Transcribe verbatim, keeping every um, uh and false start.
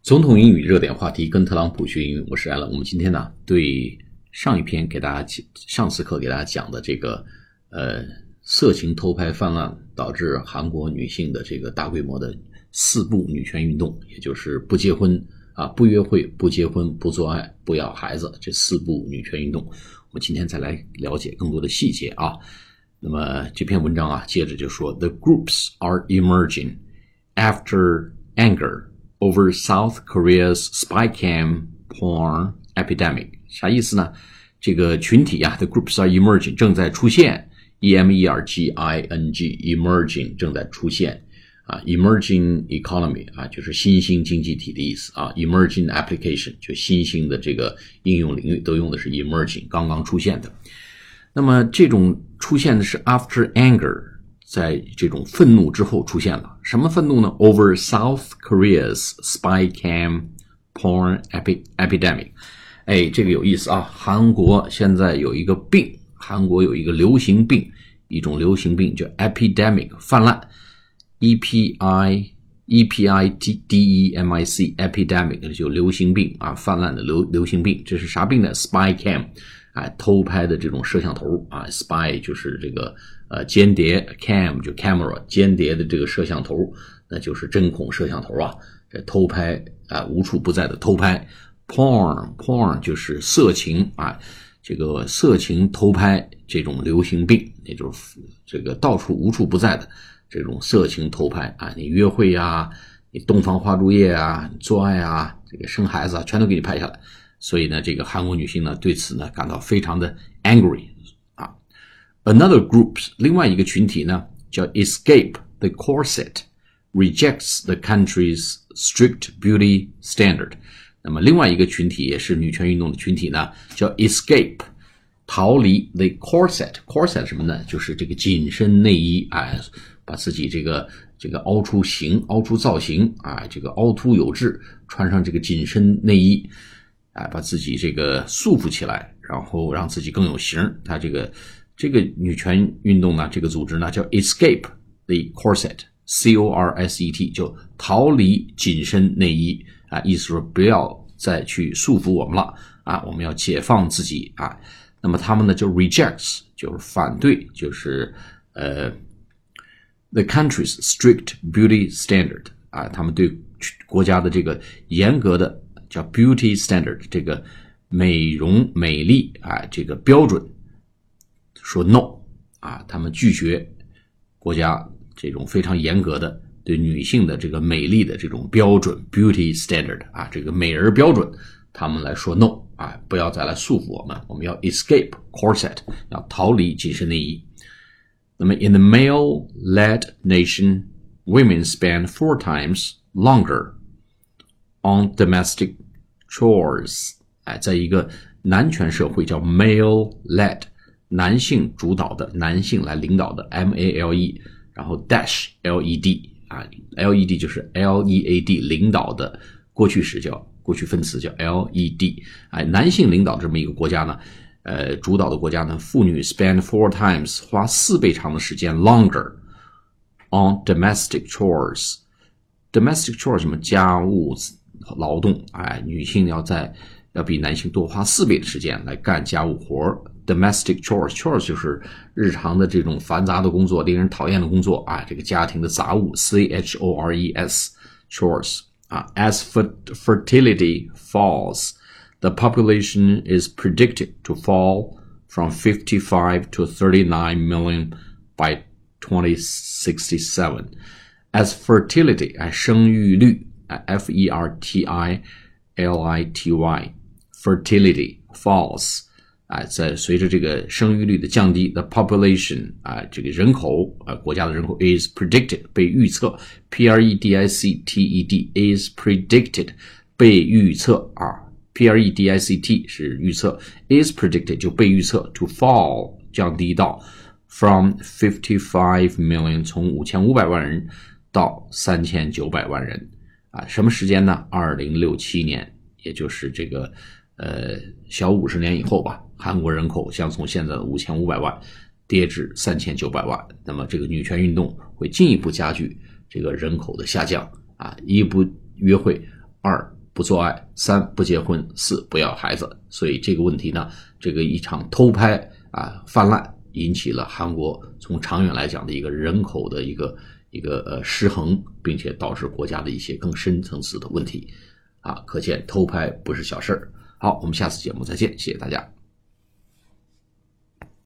总统英语热点话题，跟特朗普学英语，我是艾伦。我们今天呢，对上一篇给大家上次课给大家讲的这个呃色情偷拍泛滥，导致韩国女性的这个大规模的四不女权运动，也就是不结婚啊、不约会、不结婚、不做爱、不要孩子，这四不女权运动，我们今天再来了解更多的细节啊。那么这篇文章啊，接着就说 The groups are emerging after anger over South Korea's spy cam porn epidemic. 啥意思呢？这个群体啊 The groups are emerging 正在出现 E M E R G I N G emerging 正在出现啊 emerging economy 啊就是新兴经济体的意思啊 emerging application 就新兴的这个应用领域都用的是 emerging 刚刚出现的。那么这种出现的是 after anger在这种愤怒之后出现了，什么愤怒呢 ？Over South Korea's spy cam porn epidemic。哎，这个有意思啊！韩国现在有一个病，韩国有一个流行病，一种流行病叫 epidemic 泛滥 ，E P I E P I D E M I C epidemic 就流行病啊，泛滥的流流行病，这是啥病呢 ？spy cam。啊，偷拍的这种摄像头啊 ，spy 就是这个呃间谍 ，cam 就 camera 间谍的这个摄像头，那就是针孔摄像头啊。这偷拍啊，无处不在的偷拍 ，porn porn 就是色情啊，这个色情偷拍这种流行病，也就是这个到处无处不在的这种色情偷拍啊，你约会啊，你洞房花烛夜啊，你做爱啊，这个生孩子啊，全都给你拍下来。所以呢，这个韩国女性呢对此呢感到非常的 angry 啊。Another group 另外一个群体呢叫 Escape the Corset rejects the country's strict beauty standard。那么另外一个群体也是女权运动的群体呢叫 Escape 逃离 the corset corset 什么呢？就是这个紧身内衣啊，把自己这个这个凹出形、凹出造型啊，这个凹凸有致，穿上这个紧身内衣。啊，把自己这个束缚起来，然后让自己更有型。他这个这个女权运动呢，这个组织呢叫 Escape the Corset C O R S E T 就逃离紧身内衣啊，意思说不要再去束缚我们了啊，我们要解放自己啊。那么他们呢就 rejects 就是反对，就是呃 the country's strict beauty standard 啊，他们对国家的这个严格的叫 beauty standard 这个美容美丽啊这个标准说 no 啊，他们拒绝国家这种非常严格的对女性的这个美丽的这种标准 beauty standard 啊，这个美人标准，他们来说 no 啊，不要再来束缚我们，我们要 escape corset 要逃离紧身内衣。那么 in the male-led nation, women spend four times longer on domestic chores 哎，在一个男权社会叫 male-led 男性主导的男性来领导的 M A L E 然后 dash L E D 啊 L E D 就是 L E A D 领导的过去时叫过去分词叫 L E D 哎，男性领导这么一个国家呢呃，主导的国家呢妇女 spend four times 花四倍长的时间 longer on domestic chores domestic chores 什么家务劳动，哎，女性要在要比男性多花四倍的时间来干家务活 domestic chores chores 就是日常的这种繁杂的工作，令人讨厌的工作啊，这个家庭的杂物 C H O R E S chores 啊 as fertility falls the population is predicted to fall from fifty-five to thirty-nine million by twenty sixty-seven as fertility 哎，生育率F E R T I L I T Y fertility falls 啊，在随着这个生育率的降低 the population 啊，这个人口啊，国家的人口 is predicted 被预测 P R E D I C T E D is predicted 被预测啊 P R E D I C T 是预测 is predicted 就被预测 to fall 降低到 from fifty-five million 从五千五百万人到三千九百万人啊，什么时间呢？二零六七年，也就是这个呃小五十年以后吧，韩国人口将从现在的五千五百万跌至三千九百万。那么这个女权运动会进一步加剧这个人口的下降啊，一不约会，二不做爱，三不结婚，四不要孩子。所以这个问题呢，这个一场偷拍啊泛滥，引起了韩国从长远来讲的一个人口的一个一个呃失衡，并且导致国家的一些更深层次的问题啊。可见偷拍不是小事儿。好，我们下次节目再见，谢谢大家。